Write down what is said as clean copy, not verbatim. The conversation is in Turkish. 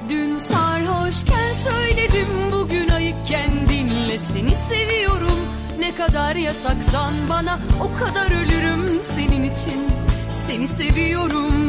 Dün sarhoşken söyledim, bugün ayıkken dinle, seni seviyorum. Ne kadar yasaksan bana, o kadar ölürüm senin için. Seni seviyorum.